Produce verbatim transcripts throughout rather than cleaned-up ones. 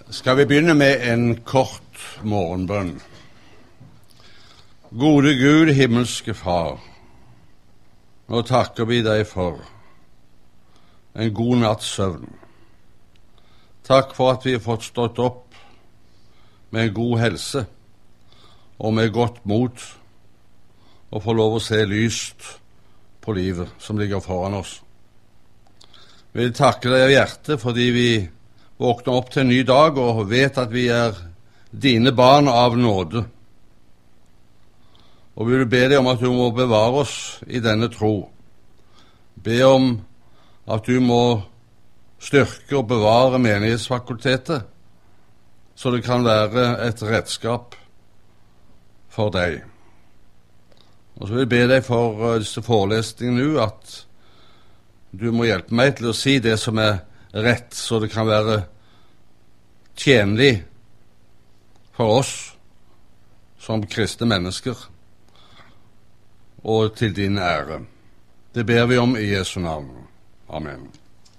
Skal vi begynne med en kort morgenbønn. Gode Gud, himmelske Far, nå takker vi deg for en god natts søvn. Takk for at vi har fått stått opp med en god helse og med godt mot og får lov å se lyst på livet som ligger foran oss. Vi vil takke deg av hjertet fordi vi våkner opp til en ny dag og vet at vi er dine barn av nåde. Og vi vil be deg om at du må bevare oss i denne tro. Be om at du må styrke og bevare menighetsfakultetet, så det kan være et redskap for deg. Og så vil jeg be deg for disse forelesningene nå, at du må hjelpe meg til å si det som er rett, så det kan være tjenlig for oss som kristne mennesker, og til din ære. Det ber vi om i Jesu navn. Amen.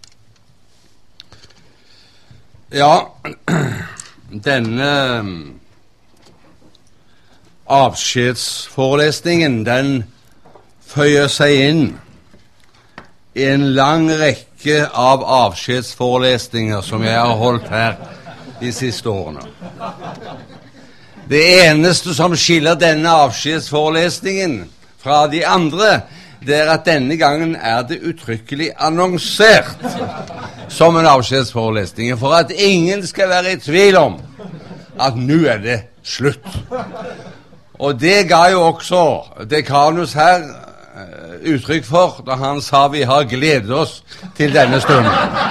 Ja, denne avskjedsforelesningen, den føyer seg inn i en lang rekke av avskjedsforelesninger som jeg har holdt her de siste årene. Det eneste som skiller denne avskjedsforelesningen fra de andre, det er at denne gangen er det uttrykkelig annonsert som en avskjedsforelesning, for at ingen skal være i tvil om at nå er det slutt. Og det ga jo også dekanus her uttrykk for da han sa vi har gledet oss til denne stunden.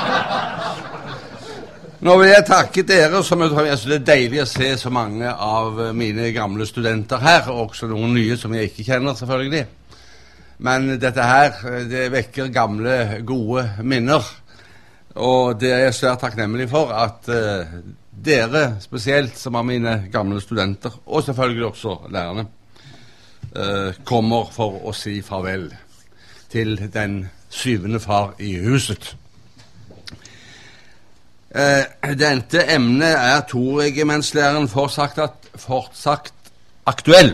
Nå vil jeg takke dere, som jeg tror det er deilig å se så mange av mine gamle studenter her, og også noen nye som jeg ikke kjenner selvfølgelig. Men dette her, det vekker gamle, gode minner, og det er jeg svært takknemlig for at uh, dere, spesielt som er mine gamle studenter, og selvfølgelig også lærerne, Uh, kommer for å si farvel til den syvende far i huset. Uh, dette emnet er toregimentslæren fortsatt, fortsatt aktuell.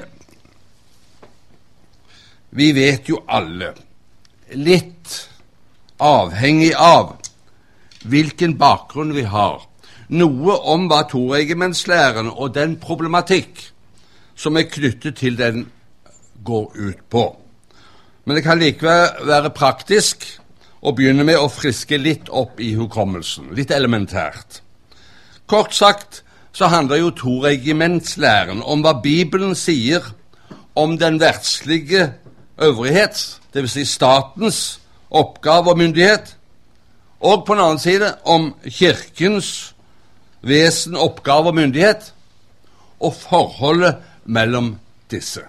Vi vet jo alle, litt avhengig av hvilken bakgrunn vi har, noe om hva toregimentslæren og den problematikk som er knyttet til den går ut på. Men det kan likevel være praktisk å begynne med å friske litt opp i hukommelsen, litt elementært. Kort sagt så handler jo toregimentslæren om hva Bibelen sier om den verdslige øvrighet, det vil si statens oppgave og myndighet, og på den annen side om kirkens vesen, oppgave og myndighet, og forholdet mellom disse.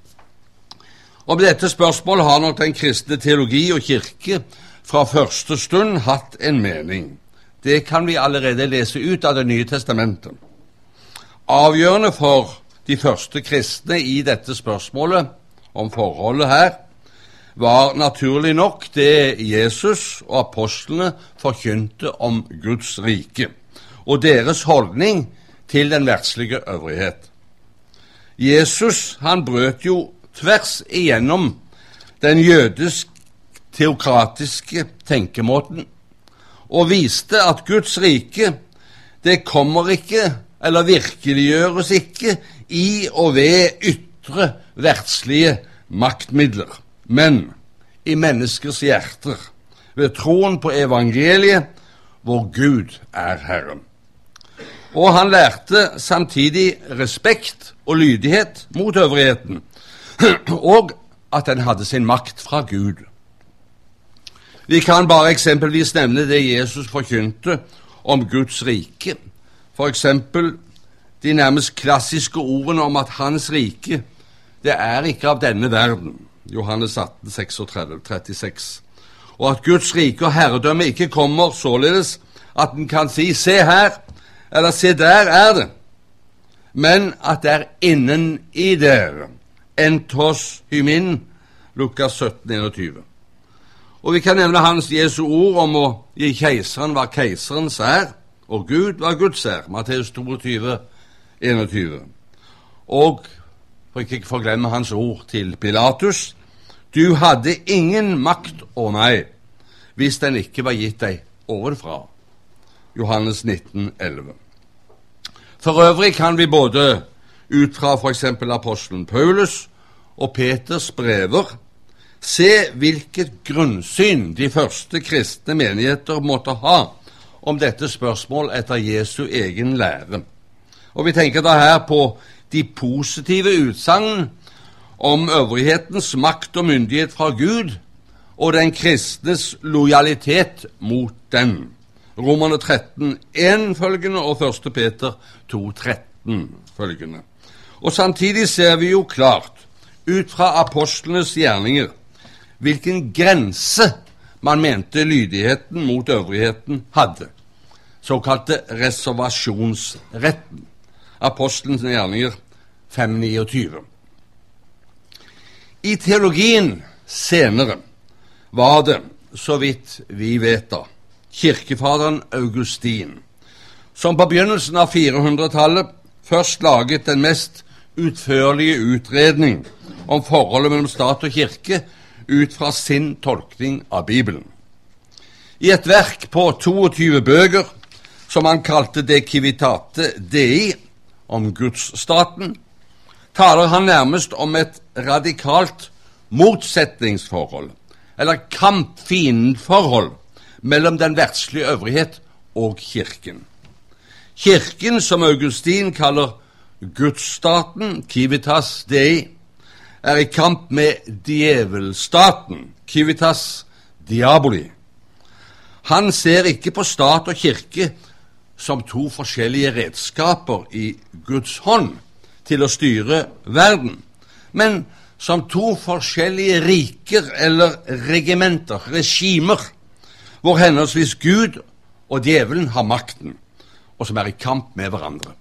Og med dette spørsmålet har nok den kristne teologi og kirke fra første stund hatt en mening. Det kan vi allerede lese ut av Det nye testamentet. Avgjørende for de første kristne i dette spørsmålet om forholdet her var naturlig nok det Jesus og apostlene forkynte om Guds rike, og deres holdning til den verdslige øvrighet. Jesus, han brøt jo tvers igjennom den jødisk-teokratiske tenkemåten og viste at Guds rike, det kommer ikke, eller virkeliggjøres ikke, i og ved ytre verdslige maktmidler, men i menneskers hjerter, ved troen på evangeliet, hvor Gud er Herren. Og han lærte samtidig respekt og lydighet mot øvrigheten, og at den hadde sin makt fra Gud. Vi kan bare eksempelvis nevne det Jesus forkynte om Guds rike. For eksempel de nærmest klassiske ordene om at hans rike, det er ikke av denne verden. Johannes atten, trettini-tretti, trettiseks. Og at Guds rike og herredømme ikke kommer således at den kan si, se her, eller se der er det, men at det er innen i dere. Entos hymin, Lukas sytten, enogtyve. Og vi kan nevne hans Jesu ord om å gi keiseren hva keiserens er, og Gud var Guds hær, Matteus toogtyve, enogtyve. Og, for ikke forglemme hans ord til Pilatus, du hadde ingen makt over meg, hvis den ikke var gitt deg ovenfra. Johannes nitten, elleve. For øvrig kan vi både ut fra for eksempel apostelen Paulus og Peters brever se hvilket grunnsyn de første kristne menigheter måtte ha om dette spørsmål etter Jesu egen lære. Og vi tenker da her på de positive utsagn om øvrighetens makt og myndighet fra Gud og den kristnes lojalitet mot den. Romerne tretten, en følgende og første Peter to, tretten følgende. Og samtidig ser vi jo klart ut fra apostlenes gjerninger hvilken grense man mente lydigheten mot øvrigheten hadde, såkalte reservasjonsretten. Apostelens gjerninger fem, niogtyve. I teologien senere var det, så vidt vi vet da, kirkefaderen Augustin, som på begynnelsen av firehundretallet først laget den mest utførlige utredning om forholdet mellom stat og kirke ut fra sin tolkning av Bibelen. I et verk på toogtyve bøker, som han kalte De Civitate Dei, om gudsstaten, taler han nærmest om et radikalt motsetningsforhold, eller kamp-fiendforhold, mellom den verdslige øvrighet og kirken. Kirken, som Augustin kaller gudsstaten, Civitas Dei, er i kamp med djevelstaten, Civitas Diaboli. Han ser ikke på stat og kirke som to forskjellige redskaper i Guds hånd til å styre verden, men som to forskjellige riker eller regimenter, regimer, hvor henholdsvis Gud og djevelen har makten, og som er i kamp med hverandre.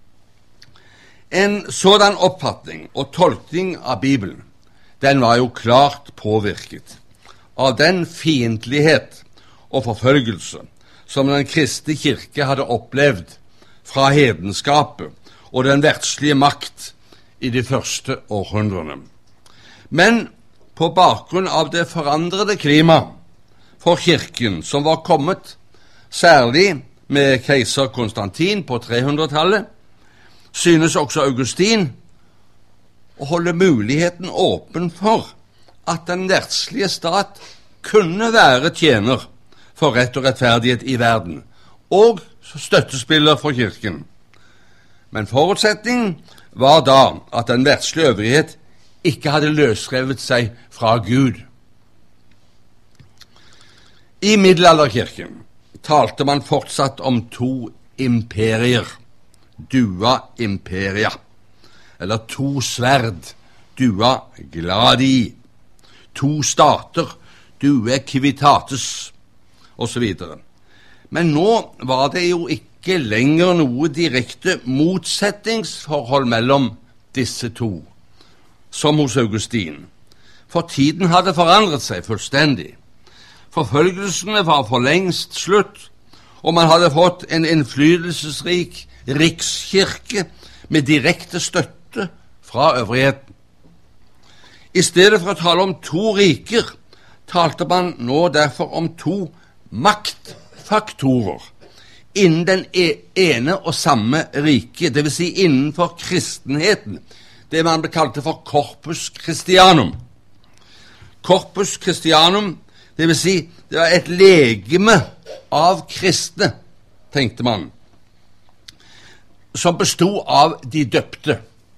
En sådan oppfatning og tolkning av Bibelen, den var jo klart påvirket av den fiendtlighet og forfølgelse som den kristne kirke hadde opplevd fra hedenskapet og den verdslige makt i de første århundrene. Men på bakgrunn av det forandrede klima for kirken som var kommet, særlig med keiser Konstantin på trehundretallet, synes også Augustin å holde muligheten åpen for at den verdslige stat kunne være tjener for rett og rettferdighet i verden, og støttespiller for kirken. Men forutsetningen var da at den verdslige øvrighet ikke hadde løsrevet seg fra Gud. I middelalderkirken talte man fortsatt om to imperier, dua imperia, eller to sverd, dua gladi, to stater, dua civitates, og så videre. Men nå var det jo ikke lenger noe direkte motsetningsforhold mellom disse to, som hos Augustin, for tiden hadde forandret seg fullstendig. Forfølgelsene var for lengst slutt, og man hadde fått en innflytelsesrik rikskirke med direkte støtte fra øvrigheten. I stedet for å tale om to riker, talte man nå derfor om to maktfaktorer innen den ene og samme rike, det vil si innenfor kristenheten, det man kalte for Corpus Christianum. Corpus Christianum, det vil si det var et legeme av kristne, tenkte man, som bestod av de døpte,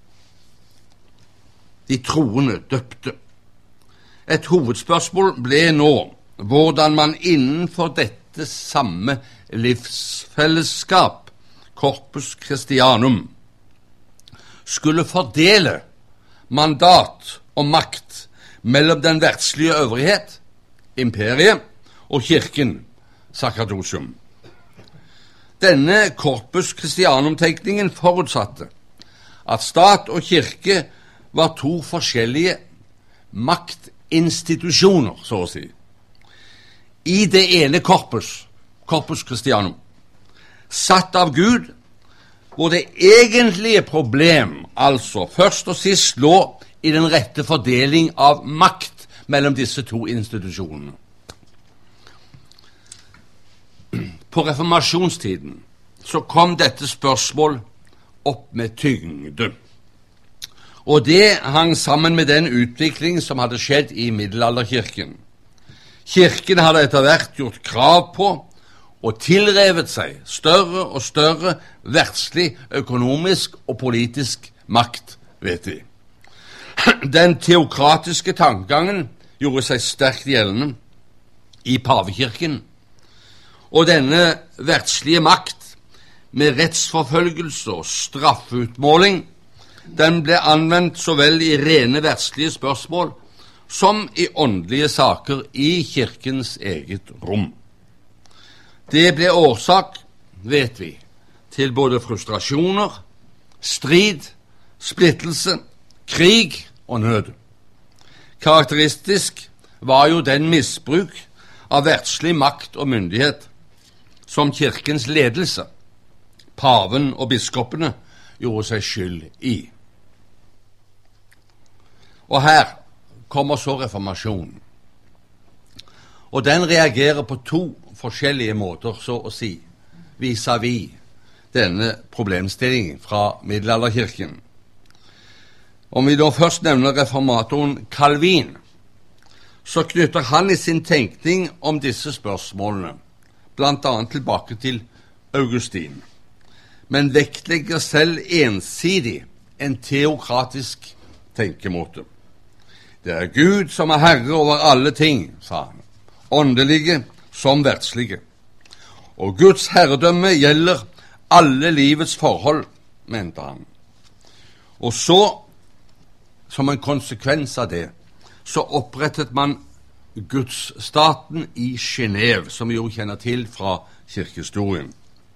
de troende døpte. Et hovedspørsmål ble nå hvordan man innenfor dette samme livsfellesskap, Corpus Christianum, skulle fordele mandat og makt mellom den verdslige øvrighet, imperiet, og kirken, Sacerdotum. Denne Corpus Christianum-tenkningen forutsatte at stat og kirke var to forskjellige maktinstitusjoner, så å si. I det ene Corpus, Corpus Christianum, satt av Gud, hvor det egentlige problem, altså først og sist, lå i den rette fordeling av makt mellom disse to institusjonene. På reformasjonstiden så kom dette spørsmål opp med tyngde. Og det hang sammen med den utvikling som hadde skjedd i middelalderkirken. Kirken hadde etter hvert gjort krav på og tilrevet seg større og større verdslig, økonomisk og politisk makt, vet vi. Den teokratiske tankegangen gjorde seg sterkt gjeldende i pavekirken, og denne verdslige makt med rettsforfølgelse og straffeutmåling, den ble anvendt så vel i rene verdslige spørsmål som i åndelige saker i kirkens eget rom. Det ble årsak, vet vi, til både frustrasjoner, strid, splittelse, krig og nød. Karakteristisk var jo den misbruk av verdslig makt og myndighet som kirkens ledelse, paven og biskopene, gjorde seg skyld i. Og her kommer så reformasjonen. Og den reagerer på to forskjellige måter, så å si, vis-à-vis denne problemstillingen fra middelalderkirken. Om vi da først nevner reformatoren Calvin, så knytter han i sin tenkning om disse spørsmålene blant annet tilbake til Augustin, men vektlegger selv ensidig en teokratisk tenkemåte. Det er Gud som er herre over alle ting, sa han, åndelige som verdslige. Og Guds herredømme gjelder alle livets forhold, mente han. Og så, som en konsekvens av det, så opprettet man Gudsstaten i Genève, som vi jo kjenner til fra kirkehistorien.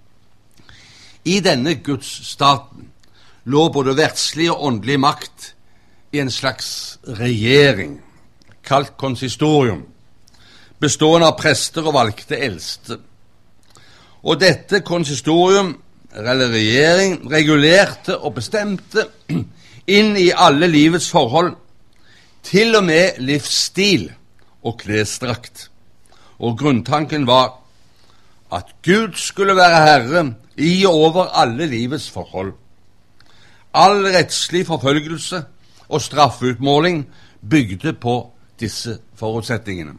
I denne Gudsstaten lå både verdslig og åndelig makt i en slags regjering, kalt konsistorium, bestående av prester og valgte eldste. Og dette konsistorium, eller regjering, regulerte og bestemte inn i alle livets forhold, til og med livsstil og klesdrakt. Og grunntanken var at Gud skulle være herre i og over alle livets forhold. All rettslig forfølgelse og straffeutmåling bygde på disse forutsetningene.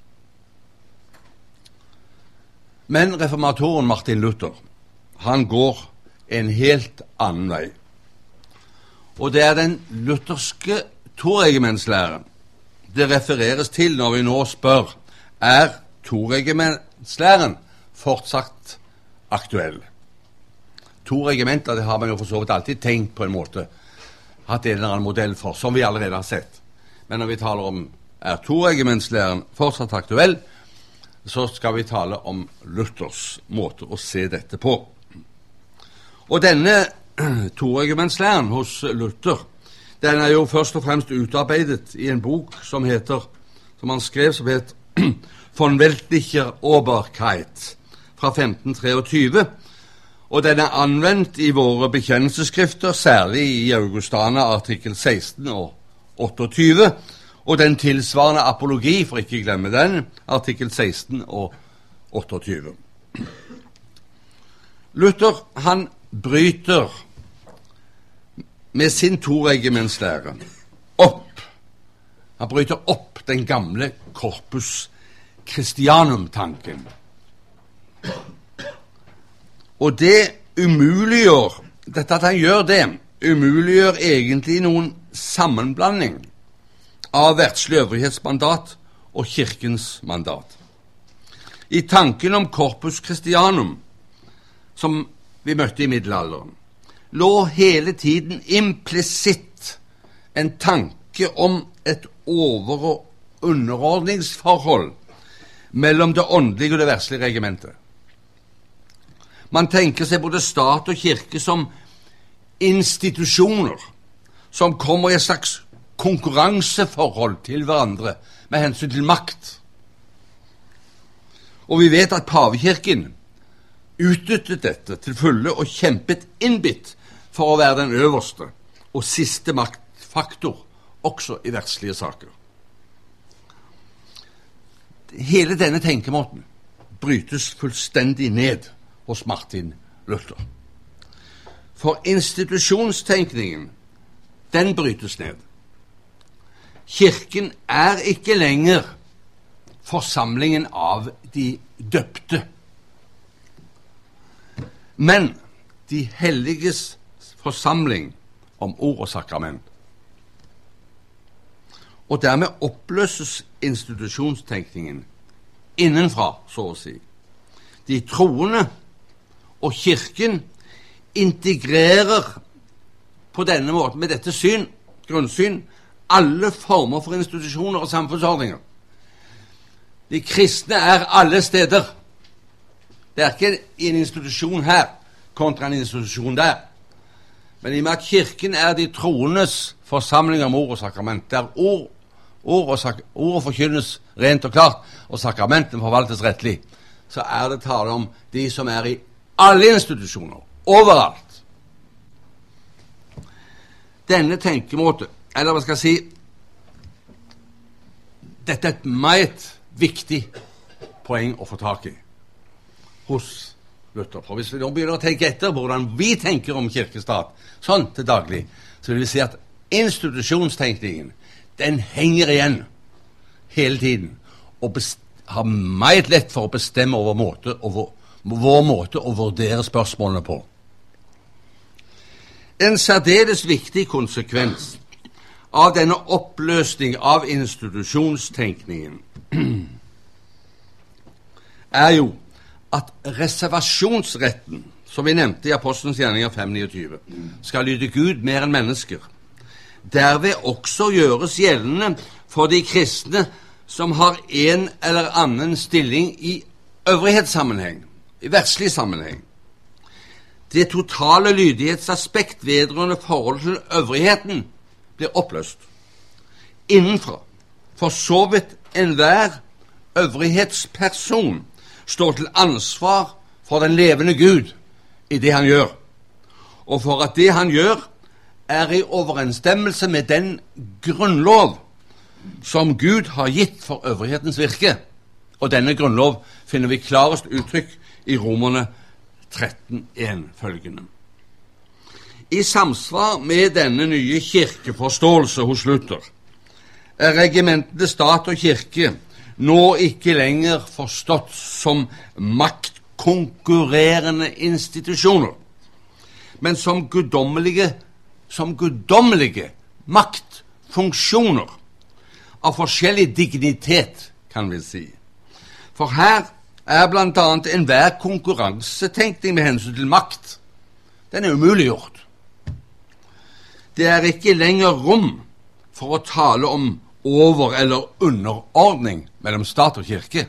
Men reformatoren Martin Luther, han går en helt annen vei. Og det er den lutherske toregimentslæren det refereres til når vi nå spør, er toregimentslæren fortsatt aktuell? To regimenter, det har man jo for så vidt alltid tenkt på en måte, hatt en eller annen modell for, som vi allerede har sett. Men når vi taler om er toregimentslæren fortsatt aktuell, så skal vi tale om Luthers måte å se dette på. Og denne toregimentslæren hos Luther, den er jo først og fremst utarbeidet i en bok som heter, som han skrev, som heter Von weltlicher Oberkeit fra femten treogtyve, og den er anvendt i våre bekjennelsesskrifter, særlig i Augustana artikkel seksten og otteogtyve, og den tilsvarende apologi, for ikke glemme den, artikkel seksten og otteogtyve. Luther, han bryter med sin toregimentslære opp, han bryter opp den gamle corpus Christianum-tanken. Og det umuliggjør, dette at han gjør det, umuliggjør egentlig noen sammenblanding av verdslig øvrighetsmandat og kirkens mandat. I tanken om corpus Christianum, som vi møtte i middelalderen, lå hele tiden implisitt en tanke om et over- og underordningsforhold mellom det åndelige og det verdslige regimentet. Man tenker seg både stat og kirke som institusjoner som kommer i et slags konkurranseforhold til hverandre med hensyn til makt. Og vi vet at pavekirken utnyttet dette til fulle og kjempet innbitt for å være den øverste og siste maktfaktor også i verdslige saker. Hele denne tenkemåten brytes fullstendig ned hos Martin Luther. For institusjonstenkningen, den brytes ned. Kirken er ikke lenger forsamlingen av de døpte, men de helliges forsamling om ord og sakrament. Og dermed oppløses institusjonstenkningen innenfra, så å si. De troende og kirken integrerer på denne måten, med dette syn, grunnsyn, alle former for institusjoner og samfunnsordninger. De kristne er alle steder. Det er ikke en institusjon her kontra en institusjon der. Men i og med at kirken er de troendes forsamling om ord og sakrament, der ord, ord, og, sak, ord forkynnes rent og klart, og sakramentene forvaltes rettelig, så er det tale om de som er i alle institusjoner, overalt. Denne tenkemåte, eller hva skal jeg si, dette er et meget viktig poeng å få tak i hos Luther. For hvis vi nå begynner å tenke etter hvordan vi tenker om kirkestat, sånn til daglig, så vil vi si at institusjonstenkningen, den henger igjen hele tiden, og har meget lett for å bestemme over måte, over, vår måte å vurdere spørsmålene på. En særdeles viktig konsekvens av denne oppløsning av institusjonstenkningen er jo at reservasjonsretten, som vi nevnte i Apostelens gjerninger fem niogtyve, skal lyde Gud mer enn mennesker. Derved også gjøres gjeldende for de kristne som har en eller annen stilling i øvrighetssammenheng, i verdslig sammenheng. Det totale lydighetsaspekt vedrørende forhold til øvrigheten blir oppløst innenfra. For så vidt enhver øvrighetsperson står til ansvar for den levende Gud i det han gjør, og for at det han gjør er i overensstemmelse med den grunnlov som Gud har gitt for øvrighetens virke. Og denne grunnlov finner vi klarest uttrykk i Romerne tretten en følgende. I samsvar med denne nye kirkeforståelse hos Luther er regimentene stat og kirke nå ikke lenger forstått som maktkonkurrerende institusjoner, men som guddommelige, som guddommelige maktfunksjoner av forskjellig dignitet, kan vi si. For her er blant annet enhver konkurransetenkning med hensyn til makt. Den er umuliggjort. Det er ikke lenger rom for å tale om over- eller underordning mellom stat og kirke,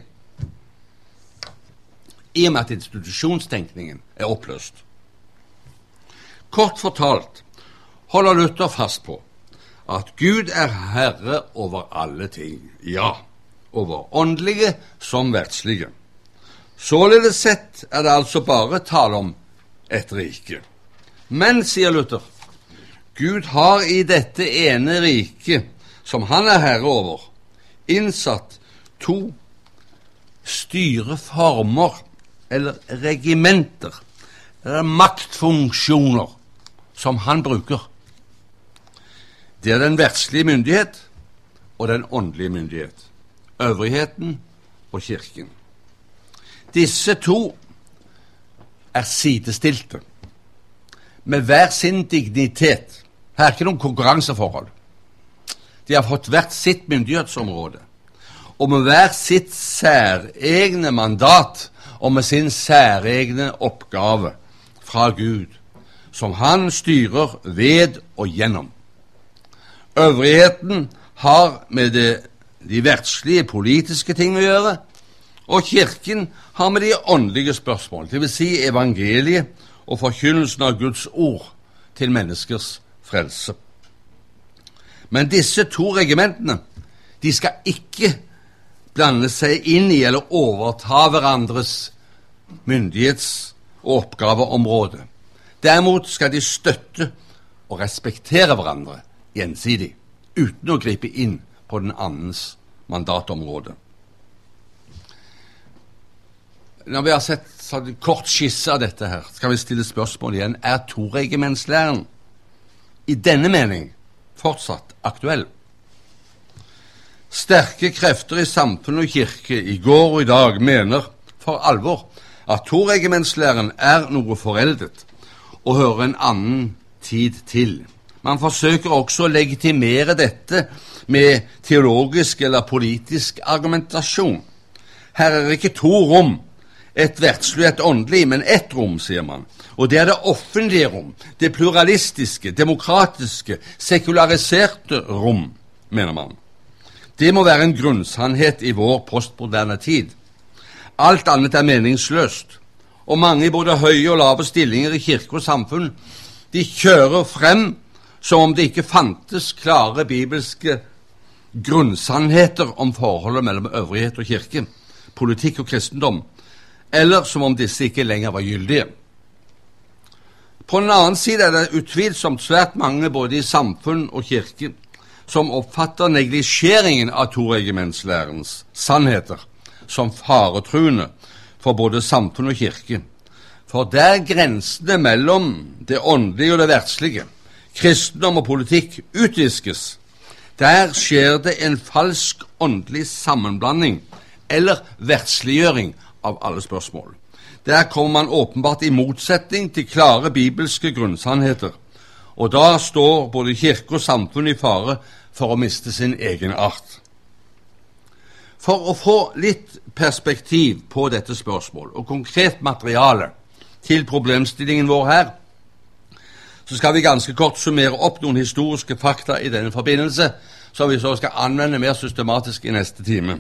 i og med at institusjonstenkningen er oppløst. Kort fortalt holder Luther fast på at Gud er herre over alle ting, ja, over åndelige som verdslige. Således sett er det altså bare tale om et rike. Men, sier Luther, Gud har i dette ene riket, som han er herre over, innsatt to styreformer, eller regimenter, eller maktfunksjoner, som han bruker. Det er den verdslige myndighet og den åndelige myndighet, øvrigheten og kirken. Disse to er sidestilte, med hver sin dignitet. Her er ikke noen konkurranseforhold. De har fått hvert sitt myndighetsområde, og med hver sitt særegne mandat, og med sin særegne oppgave fra Gud, som han styrer ved og gjennom. Øvrigheten har med det, de verdslige politiske ting å gjøre, og kirken har med de åndelige spørsmål, det vil si evangeliet og forkynnelsen av Guds ord til menneskers frelse. Men disse to regimentene, de skal ikke blande seg inn i eller overta hverandres myndighets- og oppgaveområde. Derimot skal de støtte og respektere hverandre gjensidig, uten å gripe inn på den annens mandatområde. Når vi har sett en kort skisse av dette her, skal vi stille spørsmål igjen. Er toregimentslæren i denne mening fortsatt aktuell? Sterke krefter i samfunn og kirke i går og i dag mener for alvor at toregimentslæren er noe foreldet og hører en annen tid til. Man forsøker også å legitimere dette med teologisk eller politisk argumentasjon. Her er ikke to rom, et verdslig og et åndelig, men ett rom, sier man. Og det er det offentlige rom, det pluralistiske, demokratiske, sekulariserte rom, mener man. Det må være en grunnsannhet i vår postmoderne tid. Alt annet er meningsløst, og mange i både høye og lave stillinger i kirke og samfunn, de kjører frem som om det ikke fantes klare bibelske grunnsannheter om forholdet mellom øvrighet og kirke, politikk og kristendom, eller som om disse ikke lenger var gyldige. På den annen side er det utvilsomt svært mange både i samfunn og kirke som oppfatter neglisjeringen av toregimentslærens sannheter som faretruende for både samfunn og kirke. For der grensene mellom det åndelige og det verdslige, kristendom og politikk utviskes, der skjer det en falsk åndelig sammenblanding eller verdsliggjøring av alle spørsmål. Der kommer man åpenbart i motsetning til klare bibelske grunnsannheter, og da står både kirke og samfunn i fare for å miste sin egen art. For å få litt perspektiv på dette spørsmål og konkret materiale til problemstillingen vår her, så skal vi ganske kort summere opp noen historiske fakta i denne forbindelse, som vi så skal anvende mer systematisk i neste time.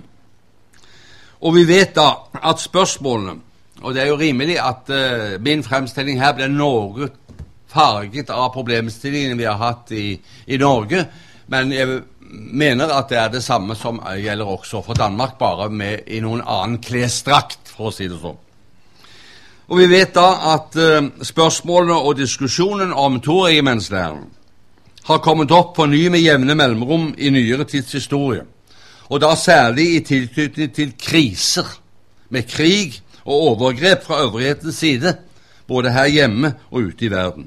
Og vi vet da at spørsmålene, og det er jo rimelig at uh, min fremstilling her blir noe farget av problemstillingen vi har hatt i, i Norge, men jeg mener at det er det samme som gjelder også for Danmark, bare med i noen annen klesdrakt, for å si det sånn. Og vi vet da at uh, spørsmålene og diskusjonen om toregimentslæren har kommet opp på ny med jevne mellomrom i nyere tids historie, og da særlig i tilknytning til kriser, med krig og overgrep fra øvrighetens side, både her hjemme og ute i verden.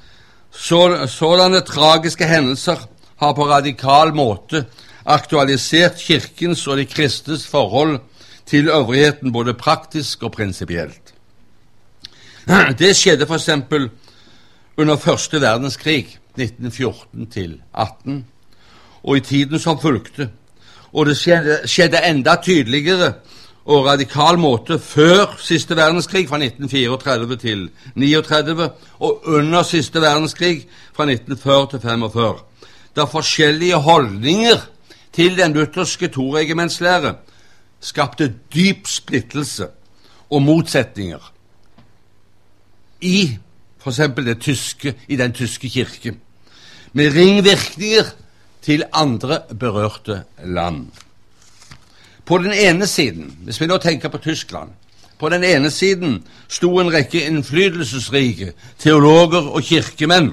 Så, sådanne tragiske hendelser har på radikal måte aktualisert kirkens og de kristnes forhold til øvrigheten både praktisk og prinsipielt. Det skjedde for eksempel under første verdenskrig, nitten fjorten til atten, og i tiden som fulgte, og det skjedde, skjedde enda tydeligere og radikal måte før siste verdenskrig fra nitten tretifire til trettini, og under siste verdenskrig fra nitten førti til femogfyrre, da forskjellige holdninger til den lutherske toregimentslære skapte dyp splittelse og motsetninger i for eksempel det tyske, i den tyske kirke, med ringvirkninger til andre berørte land. På den ene siden, hvis vi nå tenker på Tyskland, på den ene siden sto en rekke innflytelsesrike teologer og kirkemenn.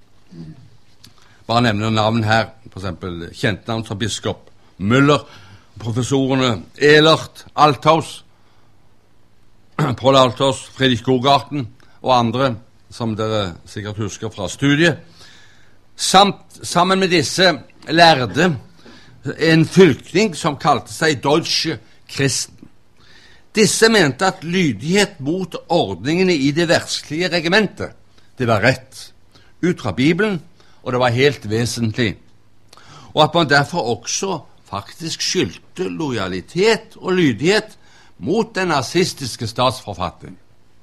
Bare nevner navn her, for eksempel kjent navn som biskop Müller, professorene Elert, Althaus, Paul Althaus, Friedrich Gogarten og andre, som dere sikkert husker fra studiet. Samt, sammen med disse lærde en fylkning som kalte seg Deutsche Christen. Disse mente at lydighet mot ordningene i det verdslige regimentet, det var rett, ut fra Bibelen, og det var helt vesentlig. Og at man derfor også faktisk skyldte lojalitet og lydighet mot den nazistiske statsforfatning.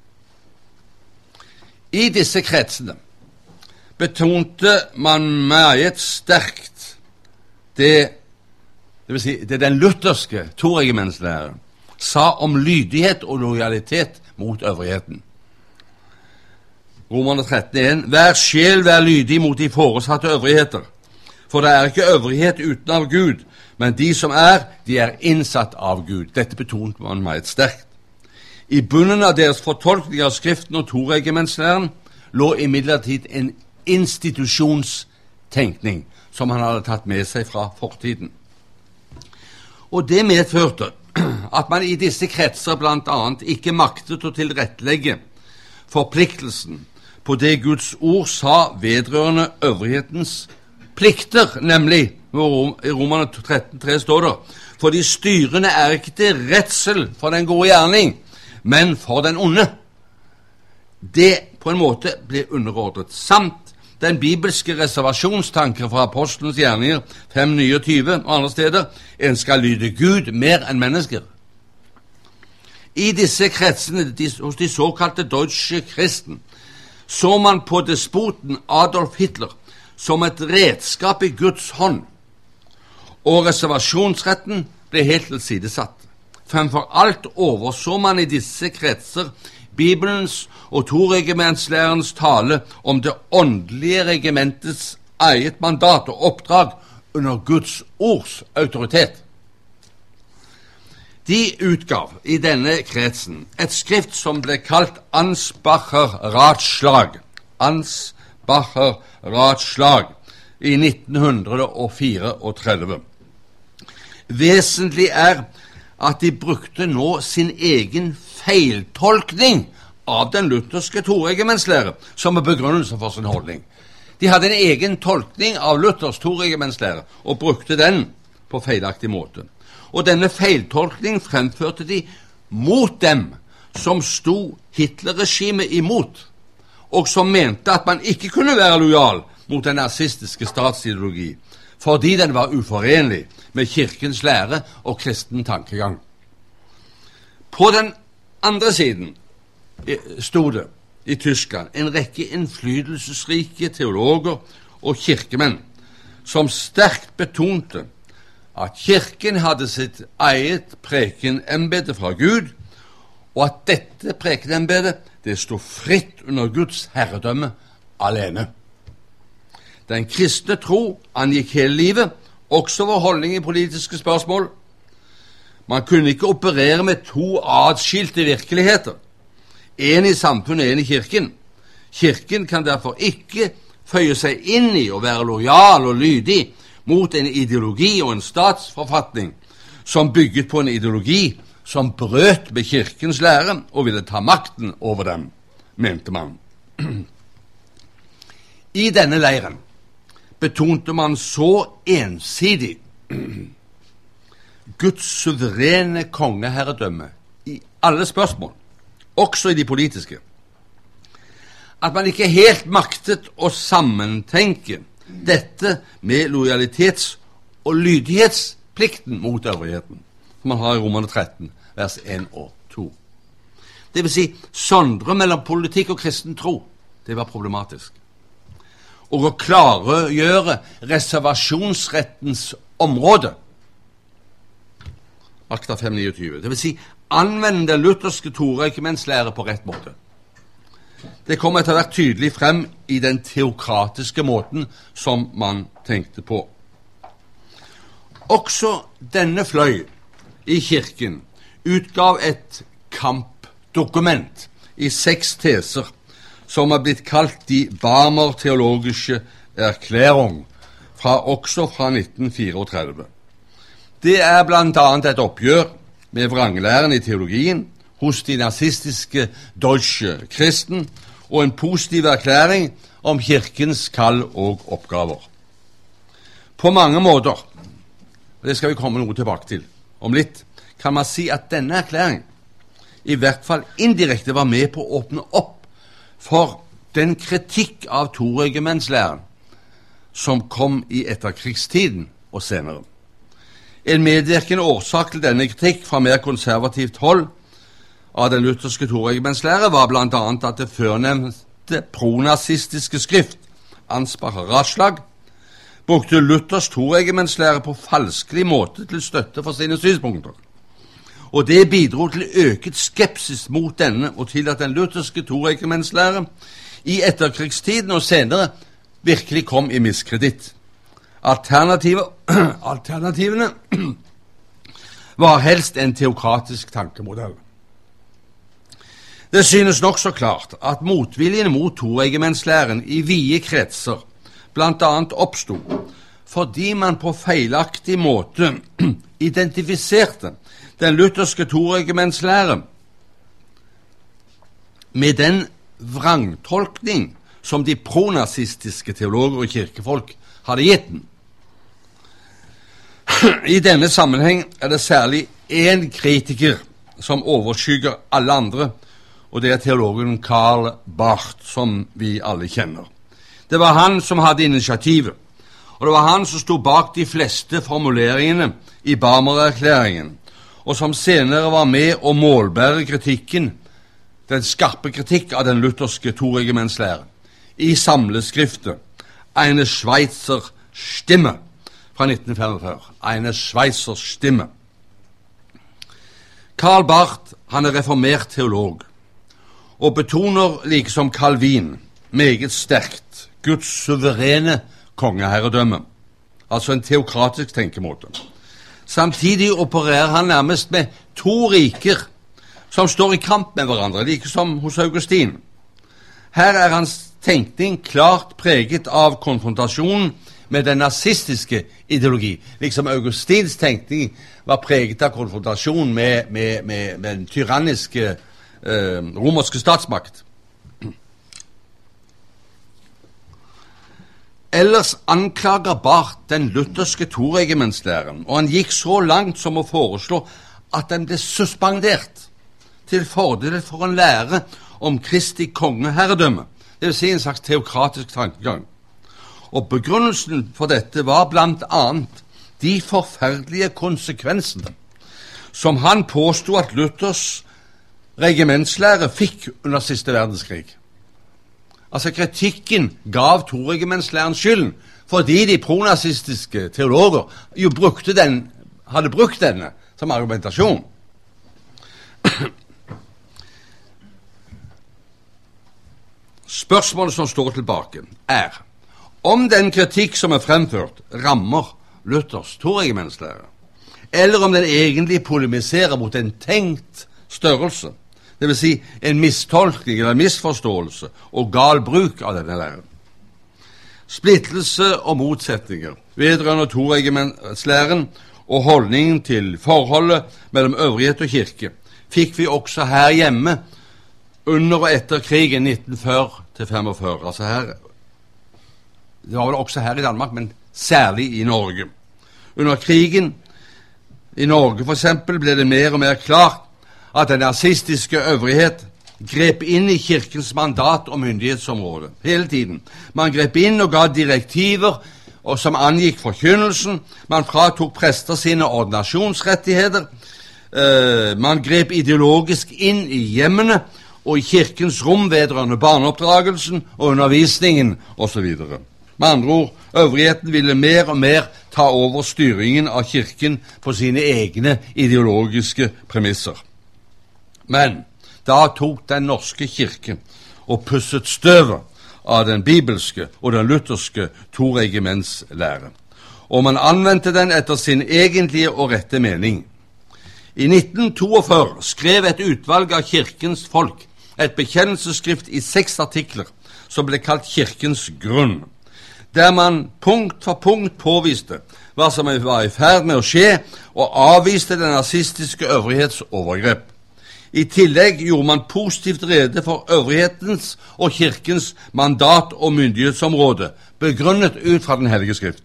I disse kretsene betonte man meget sterkt det, det vil si, det den lutherske toregimentslæren sa om lydighet og lojalitet mot øvrigheten. Romerne tretten én, hver sjel vær lydig mot de foresatte øvrigheter, for det er ikke øvrighet uten av Gud, men de som er, de er innsatt av Gud. Dette betonte man meget sterkt. I bunnen av deres fortolkning av Skriften og toregimentslæren lå imidlertid en institusjonstenkning som han hadde tatt med seg fra fortiden. Og det medførte at man i disse kretser blant annet ikke maktet å tilrettelegge forpliktelsen på det Guds ord sa vedrørende øvrighetens plikter, nemlig i Romerne tretten tre står det: for de styrende er ikke til redsel for den gode gjerning, men for den onde. Det på en måte blir underordnet, samt den bibelske reservasjonstanker fra apostelens gjerninger fem niogtyve og andre steder: en skal lyde Gud mer enn mennesker. I disse kretsene hos de såkalte Deutsche Christen så man på despoten Adolf Hitler som et redskap i Guds hånd, og reservasjonsretten ble helt tilsidesatt. Fremfor alt overså man i disse kretser Bibelens og toregimentslærens tale om det åndelige regimentets eget mandat og oppdrag under Guds ords autoritet. De utgav i denne kretsen et skrift som ble kalt Ansbacher Ratschlag. Ansbacher Ratschlag i nitten tretifire. Vesentlig er at de brukte nå sin egen feiltolkning av den lutherske toregimentslære som er begrunnelse for sin holdning. De hadde en egen tolkning av Luthers toregimentslære og brukte den på feilaktig måte. Og denne feiltolkningen fremførte de mot dem som sto Hitler-regimet imot, og som mente at man ikke kunne være lojal mot den nazistiske statsideologi, fordi den var uforenlig med kirkens lære og kristen tankegang. På den andre siden stod det i Tyskland en rekke innflytelsesrike teologer og kirkemenn som sterkt betonte at kirken hadde sitt eget prekenembete fra Gud, og at dette prekenembetet det stod fritt under Guds herredømme alene. Den kristne tro angikk hele livet, også vår holdning i politiske spørsmål. Man kunne ikke operere med to adskilte virkeligheter, en i samfunnet, en i kirken. Kirken kan derfor ikke føye seg inn i å være lojal og lydig mot en ideologi og en statsforfatning som bygget på en ideologi som brøt med kirkens lære og ville ta makten over dem, mente man. I denne leiren betonte man så ensidig Guds suverene kongeherredømme i alle spørsmål, også i de politiske, at man ikke helt maktet å sammentenke dette med lojalitets- og lydighetsplikten mot øvrigheten, som man har i Romerne tretten, vers en og to. Det vil si, sondre mellom politikk og kristen tro, det var problematisk. Og å klargjøre reservasjonsrettens område, akta fem niogtyve, det vil si, anvende den lutherske toregimentslære på rett måte. Det kommer etter hvert tydelig frem i den teokratiske måten som man tenkte på. Også denne fløy i kirken utgav et kampdokument i seks teser som er blitt kalt de Barmer-teologiske erklærung, fra, også fra nitten tretifire. Det er blant annet et oppgjør med vranglæren i teologien hos de nazistiske Deutsche Christen og en positiv erklæring om kirkens kall og oppgaver. På mange måter, og det skal vi komme noe tilbake til om litt, kan man si at denne erklæringen i hvert fall indirekte var med på å åpne opp for den kritikk av toregimentslæren som kom i etterkrigstiden og senere. En medvirkende årsak til denne kritikk fra mer konservativt hold av den lutherske toregimentslære var blant annet at det førnevnte pronazistiske skrift, Ansbacher Ratschlag, brukte Luthers toregimentslære på falskelig måte til støtte for sine synspunkter. Og det bidro til øket skepsis mot denne og til at den lutherske toregimentslære i etterkrigstiden og senere virkelig kom i miskreditt. Alternativene var helst en teokratisk tankemodell. Det synes nok så klart at motviljen mot toregimentslæren i vide kretser blant annet oppstod fordi man på feilaktig måte identifiserte den lutherske toregimentslæren med den vrangtolkning som de pronazistiske teologer og kirkefolk hadde gitt den. I denne sammenheng er det særlig én kritiker som overskygger alle andre, og det er teologen Karl Barth, som vi alle kjenner. Det var han som hadde initiativet, og det var han som stod bak de fleste formuleringene i Barmer-erklæringen, og som senere var med å målbære kritikken, den skarpe kritikk av den lutherske toregimentslæren, i samleskriftet Eine Schweizer Stimme fra nitten femogfyrre. Eine Schweizer Stimme. Karl Barth, han er reformert teolog, og betoner, like som Calvin, meget sterkt Guds suverene kongeherredømme, altså en teokratisk tenkemåte. Samtidig opererer han nærmest med to riker som står i kamp med hverandre, like som hos Augustin. Her er hans tenkning klart preget av konfrontasjonen med den nazistiske ideologi, liksom Augustins tenkning var preget av konfrontasjon med, med, med, med den tyranniske eh, romerske statsmakt. Ellers anklager Barth den lutherske toregimentslæren, og han gikk så langt som å foreslå at den ble suspendert til fordel for en lære om Kristi kongeherredømme, det vil si en slags teokratisk tankegang. Og begrunnelsen for dette var blant annet de forferdelige konsekvensene som han påstod at Luthers regimentslære fikk under siste verdenskrig. Altså kritikken gav toregimentslæren skylden, fordi de pronazistiske teologer jo brukte den, hadde brukt denne som argumentasjon. Spørsmålet som står tilbake er om den kritikk som er fremført rammer Luthers toregimentslære, eller om den egentlig polemiserer mot en tenkt størrelse, det vil si en mistolkning eller misforståelse og gal bruk av denne læren. Splittelse og motsetninger vedrørende toregimentslæren og holdningen til forholdet mellom øvrighet og kirke fikk vi også her hjemme under og etter krigen nitten førti til femogfyrre. Altså her, det var vel også her i Danmark, men særlig i Norge. Under krigen i Norge for eksempel ble det mer og mer klart at den nazistiske øvrighet grep inn i kirkens mandat og myndighetsområde hele tiden. Man grep inn og ga direktiver og som angikk forkynnelsen. Man fratok prester sine ordinasjonsrettigheter. Uh, man grep ideologisk inn i hjemmene og i kirkens rom vedrørende barneoppdragelsen og undervisningen osv. Med andre ord, øvrigheten ville mer og mer ta over styringen av kirken på sine egne ideologiske premisser. Men da tok den norske kirke og pusset støvet av den bibelske og den lutherske toregimentslære, og man anvendte den etter sin egentlige og rette mening. I nitten toogfyrre skrev et utvalg av kirkens folk et bekjennelsesskrift i seks artikler som ble kalt Kirkens grunn, der man punkt for punkt påviste hva som var i ferd med å skje, og avviste den nazistiske øvrighetsovergrep. I tillegg gjorde man positivt rede for øvrighetens og kirkens mandat og myndighetsområde, begrunnet ut fra den hellige skrift.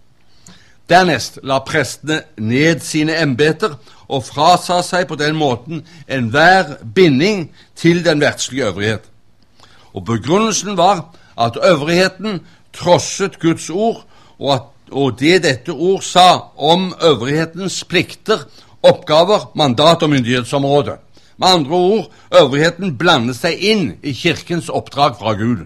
Dernest la prestene ned sine embeter og frasa seg på den måten enhver binding til den verdslige øvrighet. Og begrunnelsen var at øvrigheten trosset Guds ord, og, at, og det dette ord sa om øvrighetens plikter, oppgaver, mandat og myndighetsområde. Med andre ord, øvrigheten blandet seg inn i kirkens oppdrag fra Gud.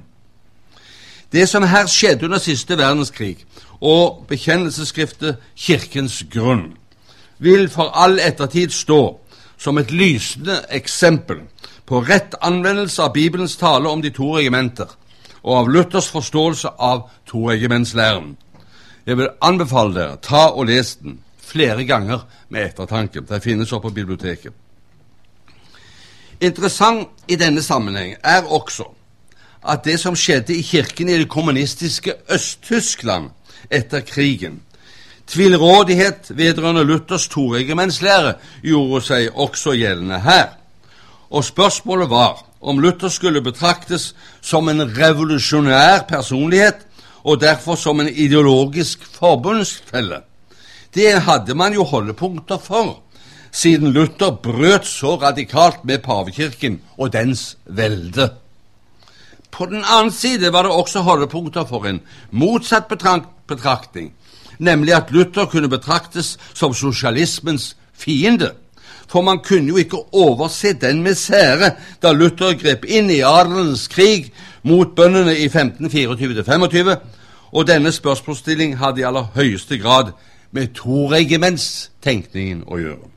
Det som her skjedde under siste verdenskrig, og bekjennelsesskriftet Kirkens grunn, vil for all ettertid stå som et lysende eksempel på rett anvendelse av Bibelens tale om de to regimenter, og av Luthers forståelse av toregimentslæren. Jeg vil anbefale dere, ta og les den flere ganger med ettertanke. Det finnes oppe på biblioteket. Interessant i denne sammenheng er også at det som skjedde i kirken i det kommunistiske Øst-Tyskland etter krigen, tvilrådighet vedrørende Luthers toregimentslære, gjorde seg også gjeldende her. Og spørsmålet var om Luther skulle betraktes som en revolusjonær personlighet og derfor som en ideologisk forbundsfelle. Det hadde man jo holdepunkter for, siden Luther brøt så radikalt med pavekirken og dens velde. På den annen side var det også holdepunkter for en motsatt betraktning, nemlig at Luther kunne betraktes som sosialismens fiende. For man kunne jo ikke overse den misere da Luther grep inn i adelens krig mot bøndene i femten fireogtyve til femogtyve, og denne spørsmålsstilling hadde i aller høyeste grad med toregimentstenkningen å gjøre.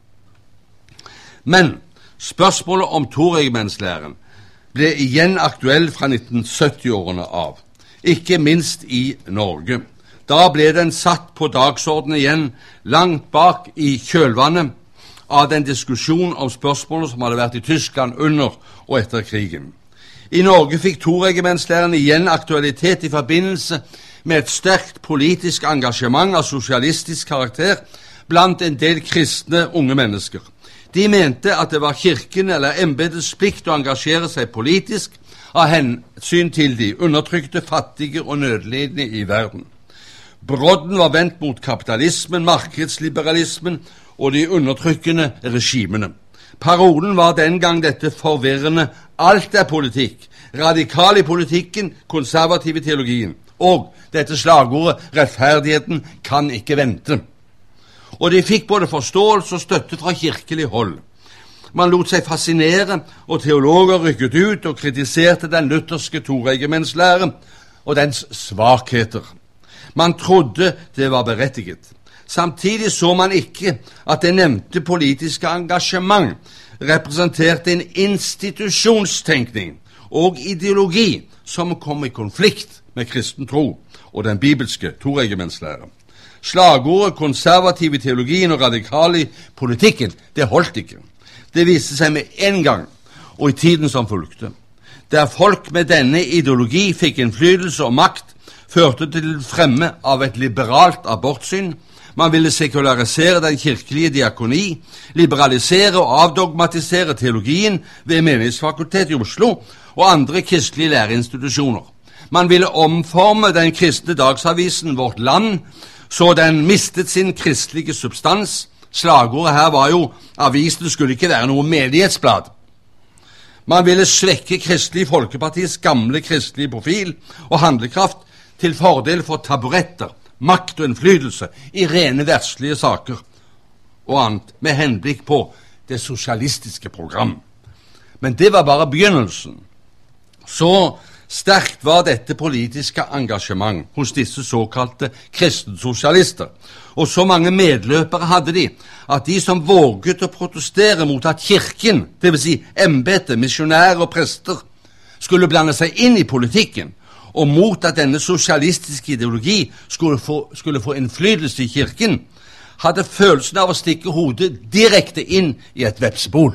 Men spørsmålet om toregimentslæren ble igjen aktuell fra nitten sytti-årene av, ikke minst i Norge. Da ble den satt på dagsordenen igjen langt bak i kjølvannet av den diskusjon om spørsmålet som hadde vært i Tyskland under og etter krigen. I Norge fikk toregimentslæren igjen aktualitet i forbindelse med et sterkt politisk engasjement av sosialistisk karakter blant en del kristne unge mennesker. De mente at det var kirken eller embetets plikt å engasjere seg politisk av hensyn til de undertrykte, fattige og nødlidende i verden. Brodden var vendt mot kapitalismen, markedsliberalismen og de undertrykkende regimene. Parolen var den gang dette forvirrende alt er politikk, radikal i politikken, konservativ i teologien, og dette slagordet rettferdigheten kan ikke vente. Og de fikk både forståelse og støtte fra kirkelig hold. Man lot seg fascinere, og teologer rykket ut og kritiserte den lutherske toregimentslære og dens svakheter. Man trodde det var berettiget. Samtidig så man ikke at det nevnte politiske engasjement representerte en institusjonstenkning og ideologi som kom i konflikt med kristen tro og den bibelske toregimentslære. Slagordet konservativ i teologien og radikal i politikken, det holdt ikke. Det viste seg med en gang, og i tiden som fulgte. Der folk med denne ideologi fikk innflytelse og makt, førte til fremme av et liberalt abortsyn. Man ville sekularisere den kirkelige diakoni, liberalisere og avdogmatisere teologien ved Menighetsfakultetet i Oslo og andre kristelige læreinstitusjoner. Man ville omforme den kristne dagsavisen Vårt Land, så den mistet sin kristelige substans. Slagordet her var jo avisen skulle ikke være noe menighetsblad. Man ville svekke Kristelig Folkepartis gamle kristelige profil og handlekraft til fordel for taburetter, makt og innflytelse i rene verdslige saker og annet med henblikk på det sosialistiske program. Men det var bare begynnelsen. Så sterkt var dette politiske engasjement hos disse såkalte kristensosialister, og så mange medløpere hadde de, at de som våget å protestere mot at kirken, det vil si embete, misjonærer og prester, skulle blande seg inn i politikken, og mot at denne sosialistiske ideologi skulle få, skulle få innflytelse i kirken, hadde følelsen av å stikke hodet direkte inn i et vepsebol.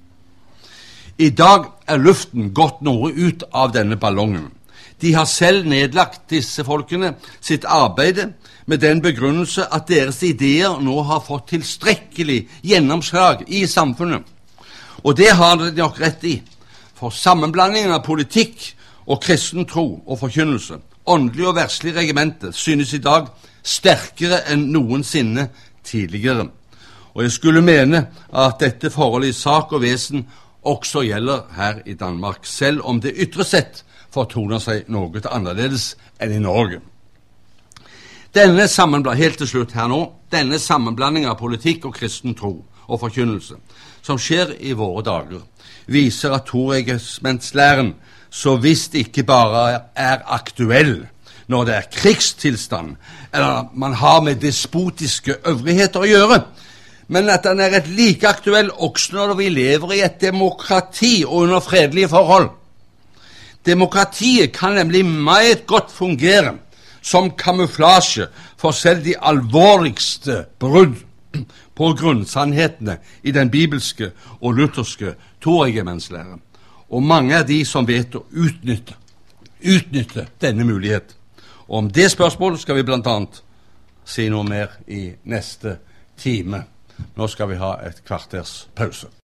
I dag er luften gått noe ut av denne ballongen. De har selv nedlagt disse folkene sitt arbeid med den begrunnelse at deres ideer nå har fått tilstrekkelig gjennomslag i samfunnet. Og det har de nok rett i, for sammenblandingen av politikk og kristen tro og forkynnelse, åndelig og verslig regimente, synes i dag sterkere enn noensinne tidligere. Og jeg skulle mene at dette forholdet i sak og vesen også gjelder her i Danmark, selv om det ytre sett fortoner seg noe annerledes enn i Norge. Denne sammenblanding, helt til slutt her nå, denne sammenblanding av politikk og kristen tro og forkynnelse, som skjer i våre dager, viser at toregimentslæren så visst ikke bare er aktuell når det er krigstilstand, eller man har med despotiske øvrigheter å gjøre, men at den er et like aktuell også når vi lever i et demokrati og under fredelige forhold. Demokratiet kan nemlig meget godt fungere som kamuflasje for selv de alvorligste brudd på grunnsannhetene i den bibelske og lutherske toregimentslære. Og mange er de som vet å utnytte, utnytte denne mulighet. Og om det spørsmålet skal vi blant annet si noe mer i neste time. Nå skal vi ha et kvarters pause.